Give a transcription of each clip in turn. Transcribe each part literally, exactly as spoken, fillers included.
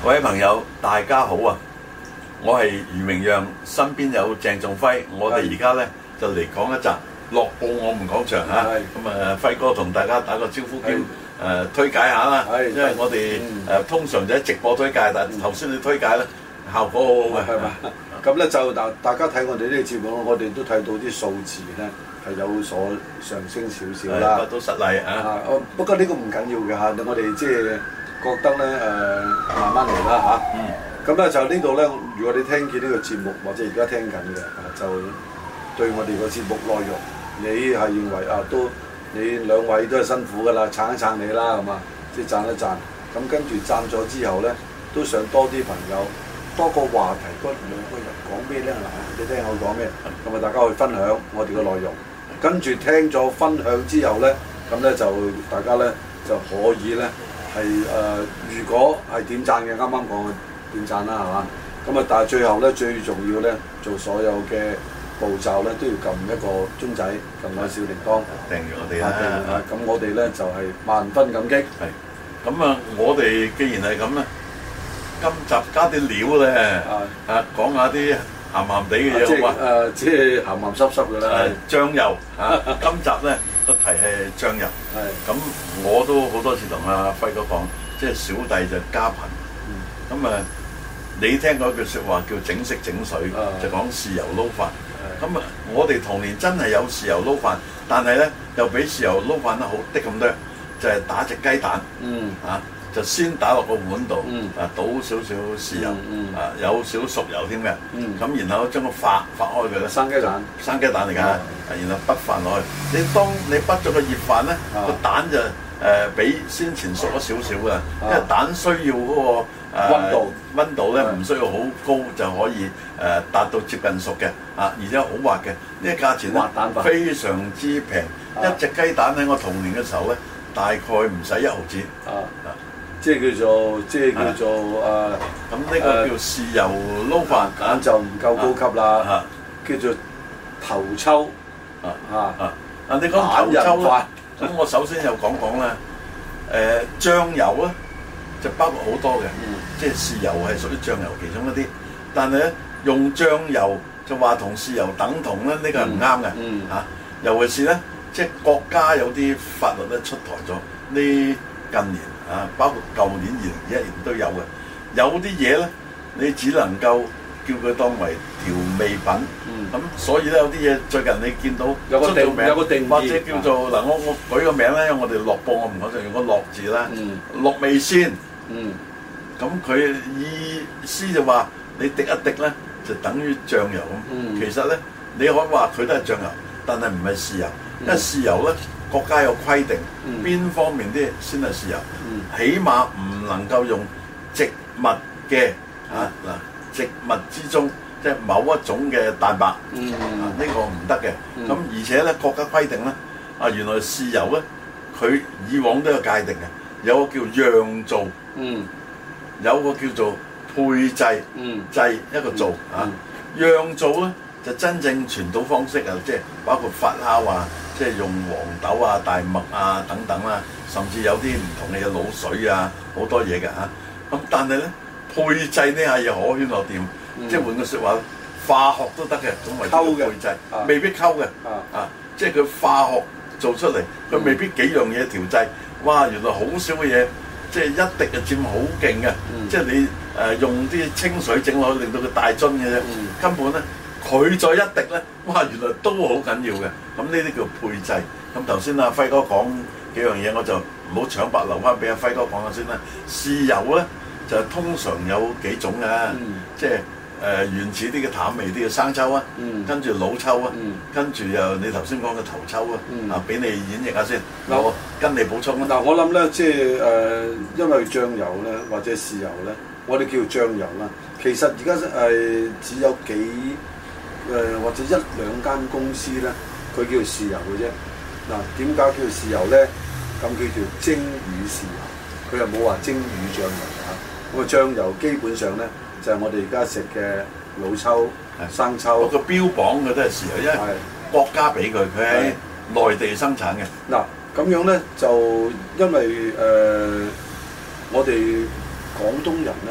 各位朋友，大家好啊！我係余明陽，身邊有鄭仲輝。我哋而家咧就嚟講一集樂報我們講場嚇。咁啊，輝哥同大家打個招呼兼誒推介下啦。因為我哋誒通常就喺直播推介，但係頭先你推介咧效果好好嘅。係嘛？ 咁咧就大大家睇我哋呢個節目，我哋都睇到啲數字咧係有所上升少少啦。 都實例啊！ 不過呢個唔緊要嘅嚇，我哋即係覺得咧誒、呃、慢慢嚟啦嚇。嗯。咁咧就呢度咧，如果你聽見呢個節目或者而家聽緊嘅，就對我哋個節目內容，你係認為啊都你兩位都係辛苦㗎啦，撐一撐你啦，係嘛？即係讚一讚。咁跟住讚咗之後咧，都想多啲朋友多個話題，嗰兩個人講咩咧？嗱，你聽我講咩？咁啊，大家去分享我哋嘅內容。跟住聽咗分享之後咧，咁咧就大家咧就可以咧係誒，如果係點讚嘅，啱啱講嘅點讚啦，係嘛？咁啊，但係最後咧最重要咧，做所有嘅步驟咧都要撳一個鐘仔，撳個小鈴鐺， 訂住我哋啦。 咁我哋咧就係萬分感激。 係。咁啊，我哋既然係咁咧，今集加啲料咧，啊講下啲鹹鹹地嘅嘢好嘛？ 誒，即係鹹鹹濕濕嘅啦。 誒，醬油啊！今集咧個題係醬油。係。咁我都好多次同阿輝哥講，即係小弟就家貧。嗯。咁啊，你聽過一句説話叫整色整水，就講豉油撈飯。係。咁啊，我哋童年真係有豉油撈飯，但係咧又比豉油撈飯得好啲咁多，就係打隻雞蛋。嗯。啊！就先打落個碗度，啊倒少少豉油，啊有少熟油添嘅，咁然後將個發發開佢咧， 生雞蛋， 生雞蛋嚟㗎，然後畢飯落去。你當你畢咗個熱飯咧，個蛋就誒比先前熟咗少少㗎，因為蛋需要嗰個溫度溫度咧唔需要好高就可以誒達到接近熟嘅，啊而且好滑嘅，呢個價錢咧非常之平，一隻雞蛋喺我童年嘅時候咧，大概唔使一毫子。啊。 即係叫做，即係叫做誒， 咁呢個叫豉油撈飯， 咁就唔夠高級啦。叫做頭抽，啊啊啊！你講頭抽咧，咁我首先又講講啦。誒醬油咧就包括好多嘅，即係豉油係屬於醬油其中一啲。但係咧用醬油就話同豉油等同咧，呢個係唔啱嘅。嚇，尤其是咧，即係國家有啲法律咧出台咗呢近年。啊，包括舊年二零二一年都有嘅，有啲嘢咧，你只能夠叫佢當為調味品。咁、嗯、所以咧，有啲嘢最近你見到有個定有個定義， 或者叫做嗱、啊，我我舉個名咧，我哋樂報我唔講就用個樂字啦，樂、嗯、味仙。嗯，咁佢意思就話你滴一滴咧，就等於醬油咁。嗯、其實咧，你可以話佢都係醬油，但係唔係豉油，因為豉油咧。國家有規定，邊、嗯、方面啲先係豉油，嗯、起碼唔能夠用植物嘅嚇嗱，植物之中即係某一種嘅蛋白，嗯、啊呢、呢個唔得嘅。咁、嗯、而且咧國家規定咧，啊原來豉油咧佢以往都有界定嘅，有個叫釀造，嗯、有個叫做配製，嗯、製一個造啊。釀造咧就真正傳統方式啊，即係包括發酵啊。即係用黃豆啊、大麥啊等等啦，甚至有啲唔同嘅嘢滷水啊，好多嘢嘅嚇。咁但係咧配製呢下嘢可圈可點，嗯、即係換個説話，化學都得嘅，咁為之配製，啊、未必溝嘅。啊，啊，即係佢化學做出嚟，佢未必幾樣嘢調製。哇，原來好少嘅嘢，即係一滴就佔好勁嘅。嗯、即係你誒、呃、用啲清水整落去，令到佢大樽嘅啫，嗯、根本咧。佢再一滴咧，哇！原來都好緊要嘅。咁呢啲叫配製。咁頭先阿輝哥講幾樣嘢，我就唔好搶白留翻俾阿輝哥講下先啦。豉油咧就通常有幾種嘅，嗯、即係誒、呃、原始啲嘅淡味啲嘅生抽啊，嗯、跟住老抽啊，嗯、跟住又你頭先講嘅頭抽啊，嗯、啊俾你演繹下先。嗯、我跟你補充啦。 嗱、嗯，我諗咧，即係誒、呃，因為醬油咧或者豉油咧，我哋叫醬油啦。其實而家誒只有幾。誒、呃、或者一兩間公司咧，佢叫做豉油嘅啫。嗱，點解叫做豉油咧？咁叫做蒸魚豉油，佢又冇話蒸魚醬油嚇。咁啊醬油基本上咧就係、是、我哋而家食嘅老抽、的生抽。個標榜嘅都係豉油，因為國家俾佢，佢喺內地生產嘅。嗱咁樣咧就因為誒、呃、我哋廣東人咧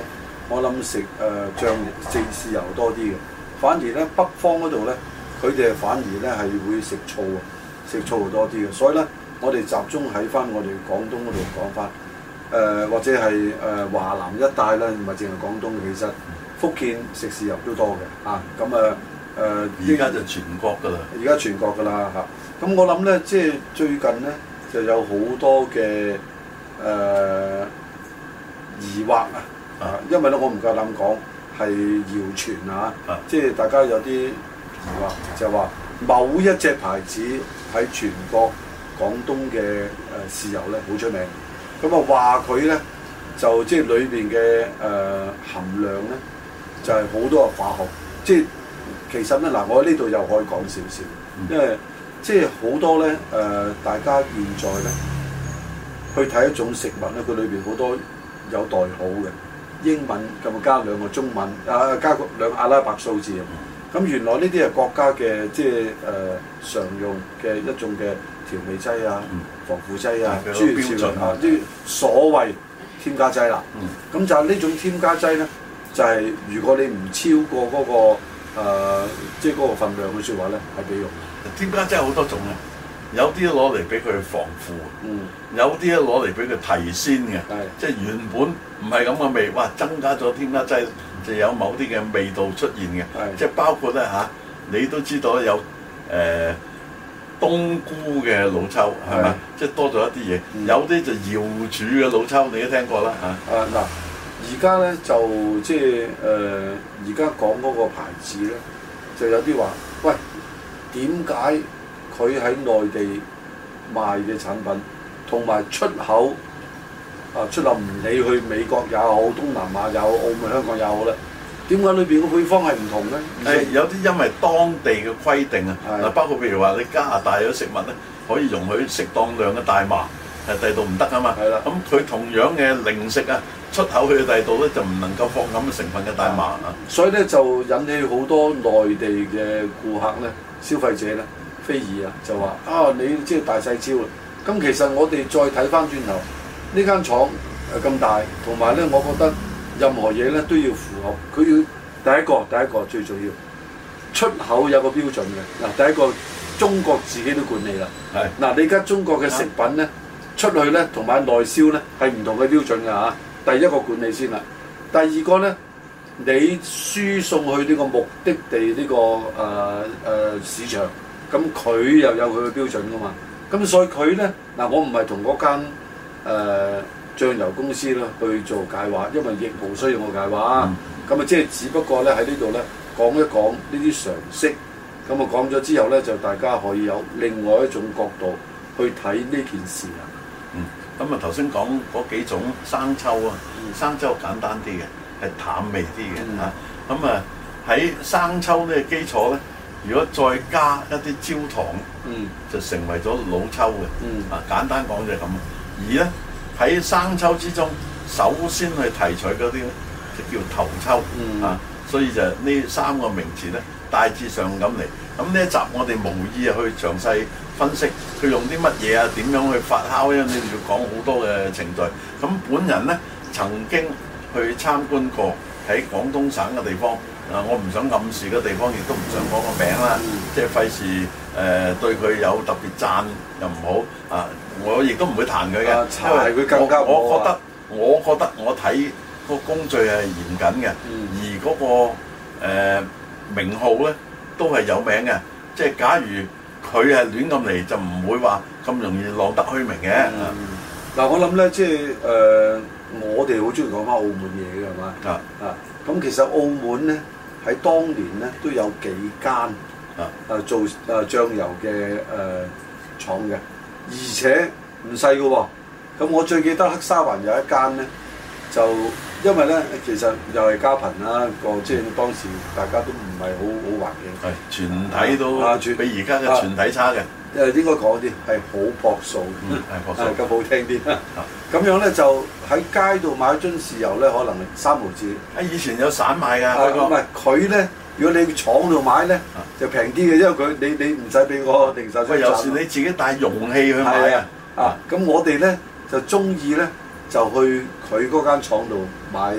我諗食誒醬食豉油多啲嘅。反而咧北方嗰度咧，佢哋反而咧係會食醋啊，食醋多啲嘅。所以咧，我哋集中喺翻我哋廣東嗰度講翻，誒、呃、或者係誒、呃、華南一帶咧，唔係淨係廣東，其實福建食豉油都多嘅啊。咁啊誒，而家就全國㗎啦， 而家全國㗎啦嚇。咁、啊、我諗咧，即係最近咧就有好多嘅誒、呃、疑惑啊，啊，因為咧我唔夠膽講。係謠傳啊！啊即係大家有啲疑惑，就係話某一隻牌子喺全國廣東嘅誒豉油咧好出名。咁啊話佢咧就即係裏邊嘅誒含量咧就係、是、好多嘅化學。即係其實咧嗱，我喺呢度又可以講少少，因為即係好多咧誒、呃，大家現在咧去睇一種食物咧，佢裏邊好多有代號嘅。英文咁啊加兩個中文啊，加個兩個阿拉伯數字啊。咁原來呢啲係國家嘅即係誒、呃、常用嘅一種嘅調味劑啊、防腐劑啊、諸如此類啊，啲所謂添加劑啦。咁、嗯、就係呢種添加劑咧，就係、是、如果你唔超過嗰、那個、呃、即係嗰個份量嘅説話咧，係俾用。 添加劑好多種嘅。有啲攞嚟俾佢防腐，嗯、有啲咧攞嚟俾佢提鮮嘅，是即係原本唔係咁嘅味，哇！增加咗添加劑就有某啲嘅味道出現嘅，是即係包括咧嚇、啊，你都知道有誒、呃、冬菇嘅老抽係咪？即係多咗一啲嘢，嗯、有啲就瑤柱嘅老抽，你都聽過啦嚇。 啊嗱，而家咧就即係誒，而家講嗰個牌子咧，就有啲話，喂，點解？佢喺內地賣嘅產品，同埋出口啊出口唔理去美國也好，東南亞也好，澳門、香港也好咧，點解裏邊嘅配方係唔同咧？ 係有啲因為當地嘅規定啊，嗱的包括譬如話你加拿大有食物咧，可以容許適當量嘅大麻，係第度唔得啊嘛。係啦的，咁佢同樣嘅零食啊，出口去第度咧就唔能夠放咁嘅成分嘅大麻啊。所以咧就引起好多內地嘅顧客咧、消費者咧。非議啊，就話啊，你即係大細超啦。咁其實我哋再睇翻轉頭，呢間廠誒咁大，同埋咧，我覺得任何嘢咧都要符合。佢要第一個，第一個最重要，出口有個標準嘅。嗱，第一個中國自己都管理啦。係是。嗱，你而家中國嘅食品咧出去咧，同埋內銷咧係唔同嘅標準㗎嚇。第一個管理先啦。第二個咧，你輸送去呢個目的地呢、這個誒誒、呃呃、市場。咁佢又有佢嘅標準噶嘛？咁所以佢咧嗱，我唔係同嗰間誒醬油公司咧去做解話，因為亦無需要我解話。咁啊、嗯，即係只不過咧喺呢度咧講一講呢啲常識。咁啊講咗之後咧，就大家可以有另外一種角度去睇呢件事啊。 嗯，咁啊頭先講嗰幾種生抽啊，嗯、生抽簡單啲嘅，係淡味啲嘅嚇。咁啊喺生抽呢個基礎咧。如果再加一啲焦糖，嗯，就成為咗老抽嘅，嗯，啊簡單講就係咁。而咧喺生抽之中，首先去提取嗰啲就叫頭抽，嗯、啊，所以就呢三個名詞咧大致上咁嚟。咁呢一集我哋無意啊去詳細分析佢用啲乜嘢啊，點樣去發酵，因為你哋要講好多嘅程序。咁本人咧曾經去參觀過喺廣東省嘅地方。啊！我唔想暗示嘅地方，亦都唔想講個名啦，嗯、即係費事誒對佢有特別讚又唔好啊！我亦都唔會彈佢嘅，啊、因為佢更加我我覺得，我覺得我睇個工序係嚴謹嘅，嗯、而嗰、那個、呃、名號咧都係有名嘅。即係假如佢係亂咁嚟，就唔會話咁容易浪得虛名嘅。嗱、嗯啊，我諗咧，即係誒、呃，我哋好中意講翻澳門嘢嘅係嘛？啊啊！咁其實澳門咧。喺當年咧都有幾間啊誒做誒醬油嘅誒廠嘅，而且唔細嘅喎。咁我最記得黑沙環有一間咧，就因為咧其實又係家貧啦，個即係當時大家都唔係好好環境，係全體都啊，比而家嘅全體差嘅。誒應該講啲係好樸素，係樸素，咁好聽啲。咁樣咧就喺街度買樽豉油咧，可能三毫紙。啊，以前有散賣㗎。唔係佢咧，如果你廠度買咧，就平啲嘅，因為佢你你唔使俾我零售商。有時你自己帶容器去買啊。啊，咁我哋咧就中意咧就去佢嗰間廠度買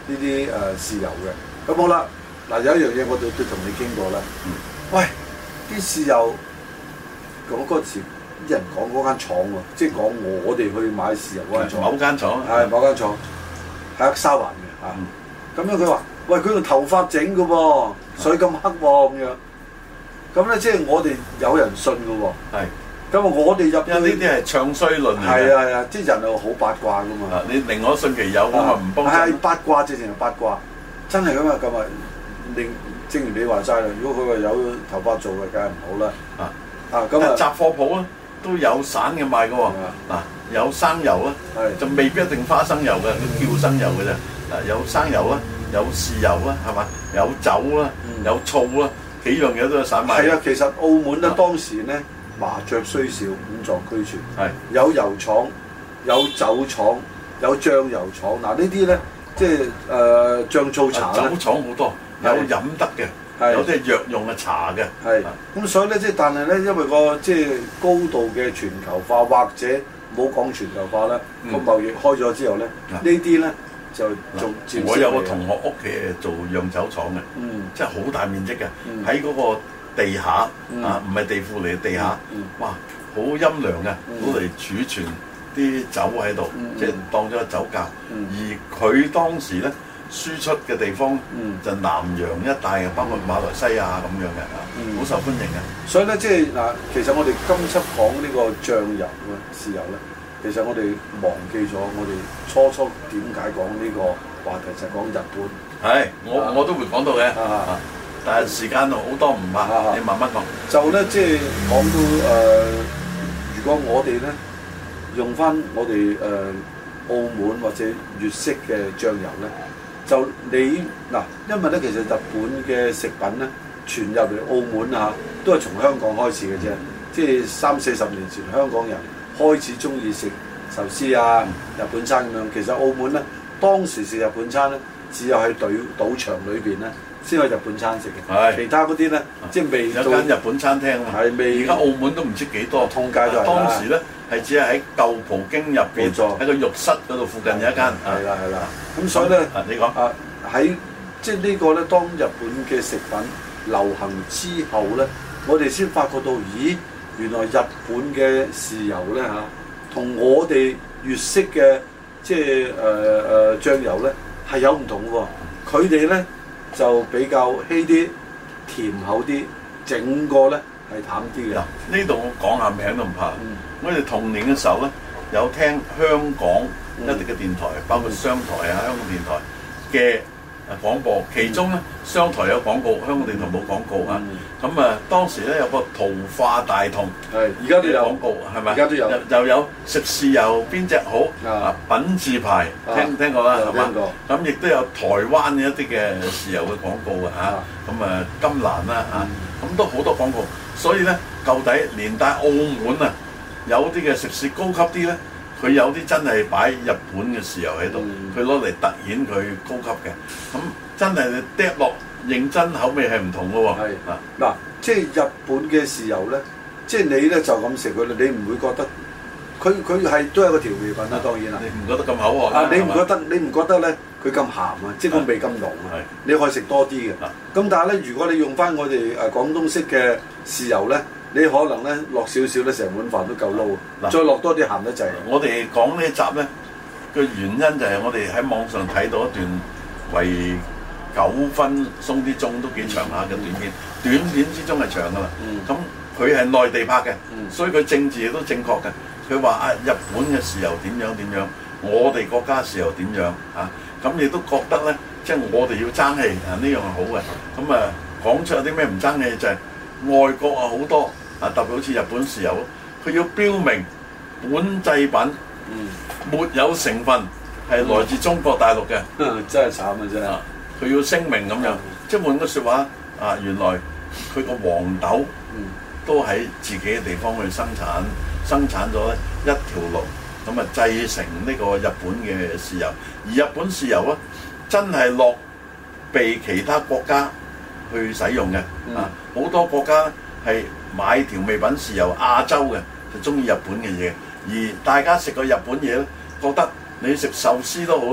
呢啲誒豉油嘅。咁好啦，嗱有一樣嘢我哋都同你傾過啦。嗯、喂，啲豉油講嗰時啲人講嗰間廠喎，即係講我哋去買豉油嗰間廠。 某間廠係某間廠，喺沙環嘅嚇。咁、嗯、樣佢話：喂，佢用頭髮整嘅喎，水咁黑喎咁樣。咁咧即係我哋有人信嘅喎。係。咁啊！我哋入因為呢啲係唱衰論嚟嘅。 係啊係啊，啲人係好八卦噶嘛。 你寧可信其有，咁啊唔幫襯。 係八卦，直情係八卦，真係咁啊！咁啊，令正如你話齋啦，如果佢話有頭髮做嘅，梗係唔好啦。啊啊咁啊！ 雜貨鋪咧都有散嘅賣嘅喎。嗱，有生油啦，就未必一定花生油嘅，叫生油嘅啫。嗱，有生油啦，有豉油啦，係嘛？有酒啦，有醋啦，幾樣嘢都有散賣。 係啊，其實澳門咧當時咧。麻雀雖小，五臟俱全。係有油廠、有酒廠、有醬油廠。嗱呢啲咧，即係誒醬醋茶咧。酒廠好多，有飲得嘅，有啲係藥用嘅茶嘅。係咁，所以咧，即係但係咧，因為個即係高度嘅全球化，或者冇講全球化啦，個貿易開咗之後咧，呢啲咧就仲漸。 我有個同學屋企係做釀酒廠嘅，即係好大面積嘅，喺嗰個地下啊，唔係地庫嚟嘅地下，哇，好陰涼嘅，攞嚟儲存啲酒喺度，即係當咗個酒窖。而佢當時咧輸出嘅地方就南洋一帶嘅，包括馬來西亞咁樣嘅，好受歡迎嘅。所以咧，即係嗱，其實我哋今輯講呢個醬油啊、豉油咧，其實我哋忘記咗我哋初初點解講呢個話題，就係講日本。係，我我都會講到嘅。但係時間好多唔怕，啊、你慢慢講。就咧，即係講到誒、呃，如果我哋咧用翻我哋誒、呃、澳門或者粵式嘅醬油咧，就你嗱，因為咧其實日本嘅食品咧傳入嚟澳門啊，都係從香港開始嘅啫。即係三四十年前，香港人開始中意食壽司啊、日本餐咁樣。其實澳門咧當時食日本餐咧，只有喺賭賭場裏邊咧。先去日本餐食嘅，其他嗰啲咧，即係未有間日本餐廳啊！係未，而家澳門都唔知幾多，通街都係。當時咧係只係喺舊葡京入邊，喺個浴室嗰度附近有一間。係啦係啦，咁所以咧，你講啊喺即係呢個咧，當日本嘅食品流行之後咧，我哋先發覺到，咦，原來日本嘅豉油咧嚇，同我哋粵式嘅即係誒誒醬油咧係有唔同嘅喎，佢哋咧。就比較稀啲、甜口啲，整個咧係淡啲嘅。呢度我講下名都唔怕。嗯、我哋童年嘅時候咧，有聽香港一啲嘅電台，嗯、包括商台啊、香港電台嘅廣播，其中咧商台有廣告，香港電台冇廣告啊。咁啊、嗯，當時咧有個桃花大同，係而家都有廣告，係咪？而家都有，又有食豉油邊隻好啊？品字牌，聽聽過啦，係嘛？咁亦都有台灣嘅一啲嘅豉油嘅廣告啊，嚇。咁啊，金蘭啦，嚇，咁都好多廣告。所以咧，舊底連帶澳門啊，有啲嘅食肆高級啲咧，佢有啲真係擺日本嘅豉油喺度，佢攞嚟突顯佢高級嘅。咁真係你嗒落。認真口味係唔同嘅喎，係啊嗱，即係日本嘅豉油咧，即係你咧就咁食佢咧，你唔會覺得佢佢係都係個調味品啦，當然啦，你唔覺得咁口渴啊？你唔覺得你唔覺得咧佢咁鹹啊？即係個味咁濃啊？你可以食多啲嘅。咁但係咧，如果你用翻我哋誒廣東式嘅豉油咧，你可能咧落少少咧，成碗飯都夠撈，再落多啲鹹得滯。我哋講呢一集咧嘅原因就係我哋喺網上睇到一段為九分鬆啲鐘都幾長下嘅短片，短片之中係長噶啦。咁佢係內地拍嘅，嗯、所以佢政治亦都正確嘅。佢話啊，日本嘅豉油點樣點樣，我哋國家豉油點樣啊？咁亦都覺得咧，即係我哋要爭氣啊，呢樣係好嘅。咁啊，講出有啲咩唔爭氣就係、是、外國啊好多啊，特別好似日本豉油，佢要標明本製品，嗯、沒有成分係來自中國大陸嘅、嗯，真係慘啊！真係。佢要聲明咁樣，嗯、即係換個説話啊！原來佢個黃豆都喺自己嘅地方去生產，生產咗咧一條龍，咁啊製成呢個日本嘅豉油。而日本豉油咧，真係落被其他國家去使用嘅、嗯、啊！好多國家咧係買調味品豉油，亞洲嘅就中意日本嘅嘢，而大家食個日本嘢咧，覺得你食壽司都好咧。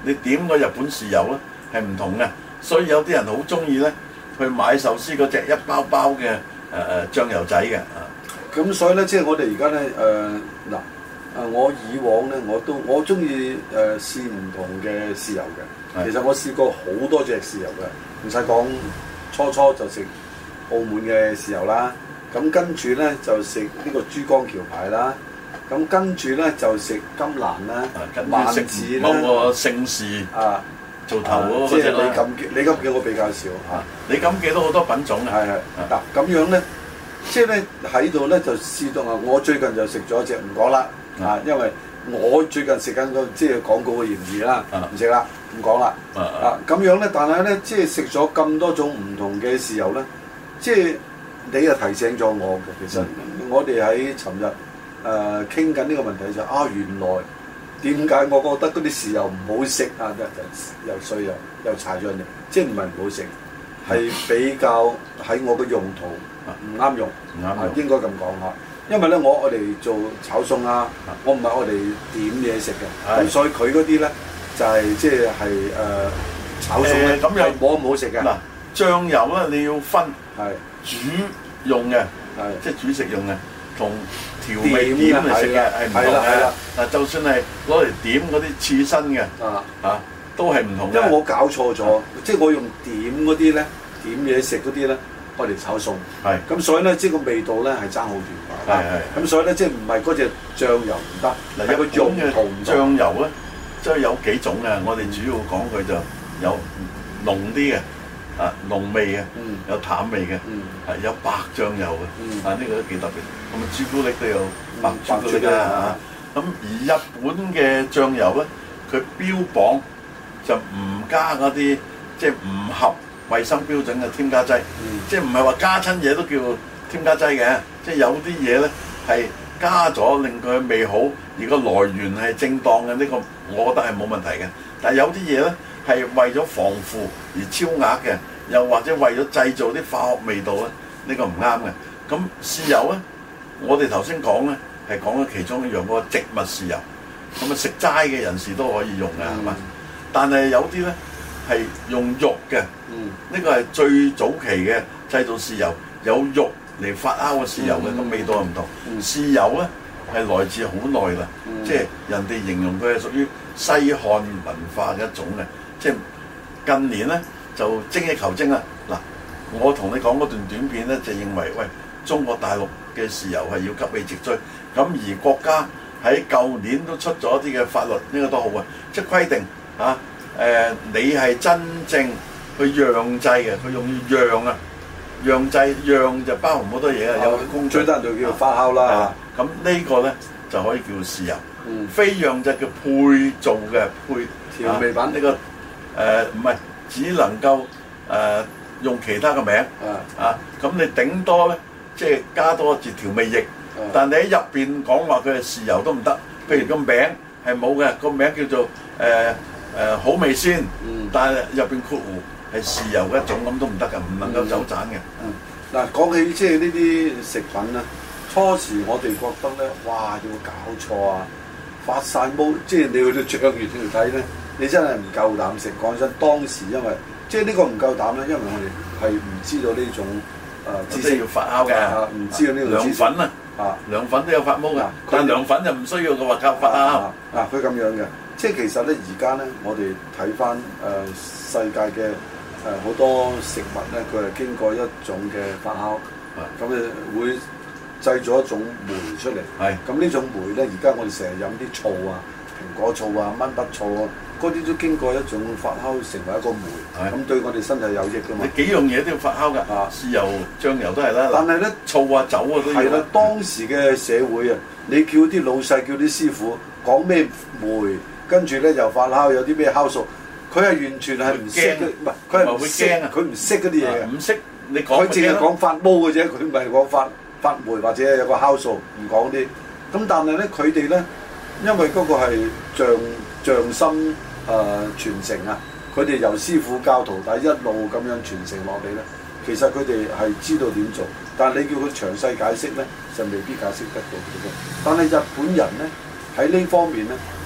你點個日本豉油咧係唔同嘅，所以有啲人好中意咧去買壽司嗰隻一包包嘅誒誒醬油仔嘅啊。 咁所以咧，即係我哋而家咧誒嗱啊，我以往咧我都我中意誒試唔同嘅豉油嘅。其實我試過好多隻豉油嘅，唔使講，初初就食澳門嘅豉油啦。咁跟住咧就食呢個珠江橋牌啦。咁跟住咧就食金蘭啦，萬字啦， 某個姓氏啊做頭嗰即係李錦記，李錦記我比較少嚇。 李錦記都好多品種嘅。係係嗱咁樣咧，即係咧喺度咧就試到啊！我最近就食咗隻唔講啦啊，因為我最近食緊個即係廣告嘅嫌疑啦，唔食啦，唔講啦啊咁樣咧，但係咧即係食咗咁多種唔同嘅豉油咧，即係你又提醒咗我嘅，其實我哋喺尋日。誒傾緊呢個問題就啊，原來點解我覺得嗰啲豉油唔好食啊？又衰又又柴咗你，即係唔係唔好食，係比較喺我嘅用途唔啱用，唔啱用，應該咁講嚇。因為咧，我我哋做炒餸啊，我唔係我哋點嘢食嘅，咁所以佢嗰啲咧就係即係係誒炒餸咧，咁又冇咁好食嘅。嗱， 醬油咧你要分係煮用嘅，係即係煮食用嘅。同調味點嚟食嘅係唔同嘅，嗱就算係攞嚟點嗰啲刺身嘅，啊啊都係唔同嘅。 因為我搞錯咗，即係我用點嗰啲咧，點嘢食嗰啲咧，我嚟炒餸。係咁，所以咧即係個味道咧係爭好遠。係係。咁所以咧即係唔係嗰隻醬油唔得，嗱有個用途唔同。 醬油咧即係有幾種嘅，我哋主要講佢就有濃啲嘅。啊濃味嘅，有淡味嘅，係有白醬油嘅，啊呢個都幾特別。咁啊朱古力都有白朱古力啦嚇。咁而日本嘅醬油咧，佢標榜就唔加嗰啲即係唔合衞生標準嘅添加劑，即係唔係話加親嘢都叫添加劑嘅，即係有啲嘢咧係加咗令佢味好，而個來源係正當嘅，呢個我覺得係冇問題嘅。但係有啲嘢咧係為咗防腐而超額嘅。又或者為咗製造啲化學味道咧，呢個唔啱嘅。咁豉油咧，我哋頭先講咧係講咗其中一樣嗰個植物豉油，咁啊食齋嘅人士都可以用嘅，係嘛？但係有啲咧係用肉嘅，呢個係最早期嘅製造豉油，有肉嚟發酵嘅豉油嘅，個味道係唔同。豉油咧係來自好耐啦，即係人哋形容佢係屬於西漢文化嘅一種嘅，即係近年咧。就精益求精啦！嗱，我同你講嗰段短片咧，就認為喂，中國大陸嘅豉油係要急起直追，咁而國家喺舊年都出咗一啲嘅法律，呢、這個都好啊，即係規定嚇誒、啊呃，你係真正去釀製嘅，佢用要釀啊，釀製釀就包含好多嘢啊，有工序，最得就叫發酵啦。咁呢個咧就可以叫豉油，嗯、非釀製叫配做嘅配調味品。呢、啊這個誒唔係。只能夠誒、呃、用其他嘅名啊，咁、啊、你頂多咧，即係加多一字調味液，啊、但你喺入邊講話佢係豉油都唔得。譬如個名係冇嘅，個名叫做誒誒、呃呃、好味鮮，嗯、但係入邊括弧係豉油嘅一種，咁都唔得嘅，唔能夠走盞嘅。 嗱、嗯，講、嗯、起即係呢啲食品咧，初時我哋覺得咧，哇，要搞錯啊，發晒毛，即係你去到醬園度睇咧。你真係唔夠膽食，講真，當時因為即係呢個唔夠膽咧，因為我哋係唔知道呢種誒知識要發酵嘅， 唔知道呢個涼粉啊，啊涼粉都有發毛㗎，但係涼粉就唔需要嘅話靠發酵。 嗱佢咁樣嘅，即係其實咧而家咧，我哋睇翻誒世界嘅誒好多食物咧，佢係經過一種嘅發酵，咁誒會製造一種酶出嚟。係咁呢種酶咧，而家我哋成日飲啲醋啊、蘋果醋啊、蚊筆醋啊。嗰啲都經過一種發酵成為一個酶，咁的對我哋身體有益㗎嘛。 你幾樣嘢都要發酵㗎，啊，豉油、醬油都係啦。 但係咧， 醋啊、酒啊都要。係啦， 當時嘅社會啊，你叫啲老細、叫啲師傅講咩酶，跟住咧又發酵，有啲咩酵素，佢係完全係唔識嘅，唔係佢係唔識啊，佢唔識嗰啲嘢嘅。唔識你講，佢淨係講發毛嘅啫，佢唔係講發發酶或者有個酵素，唔講啲。咁但係咧，佢哋咧，因為嗰個係匠匠心。誒、呃、傳承啊！佢哋由師傅教徒弟一路咁樣傳承落嚟咧，其實佢哋係知道點做，但係你叫佢詳細解釋咧，就未必解釋得到嘅。但係日本人咧喺呢方面咧，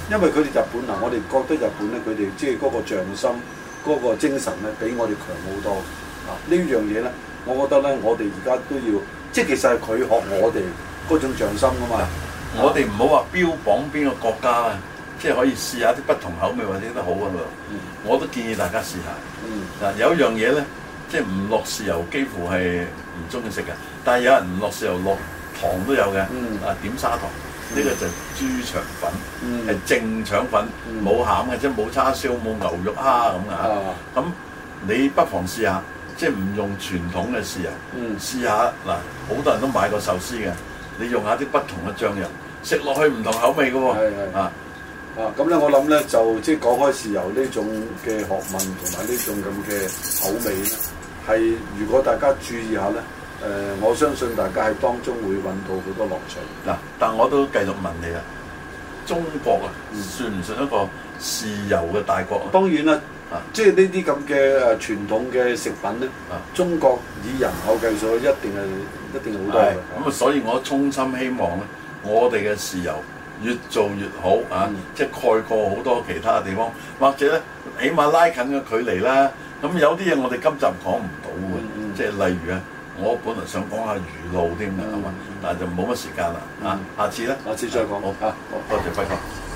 因為佢哋日本啊，我哋覺得日本咧，佢哋即係嗰個匠心、嗰、嗰個精神咧，比我哋強好多啊！呢樣嘢咧，我覺得咧，我哋而家都要，即係其實係佢學我哋嗰種匠心噶嘛。啊、 我哋唔好話標榜邊個國家啊，即係可以試下啲不同口味或者都好啊嘛。嗯、我都建議大家試下。嗱、嗯，有一樣嘢咧，即係唔落豉油，幾乎係唔中意食嘅。但係有人唔落豉油，落糖都有嘅。嗯、啊，點砂糖。呢個就係豬腸粉，係、嗯、正腸粉，冇、嗯、餡嘅，即係冇叉燒、冇牛肉蝦咁啊！咁你不妨試下，即係唔用傳統嘅豉油，嗯、試下嗱，好多人都買過壽司嘅，你用下啲不同嘅醬油，食落去唔同口味嘅喎。啊啊！咁咧，我諗咧就即係講開豉油呢種嘅學問同埋呢種咁嘅口味咧，係如果大家注意下咧。誒、呃，我相信大家喺當中會揾到好多樂趣。 嗱，但我都繼續問你啦，中國啊，算唔算一個豉油嘅大國啊？ 當然啦，啊，即係呢啲咁嘅誒傳統嘅食品咧，啊，中國以人口計數，一定係一定好多嘅。 咁啊，所以我衷心希望咧，我哋嘅豉油越做越好啊，嗯、即係蓋過好多其他嘅地方，或者咧，起碼拉近個距離啦。咁有啲嘢我哋今集講唔到嘅，嗯嗯、即係例如啊。我本來想講下魚露添嘅，係嘛、嗯？但係就冇乜時間啦，啊、嗯！下次咧， 下次再講。 好，好，多謝輝哥。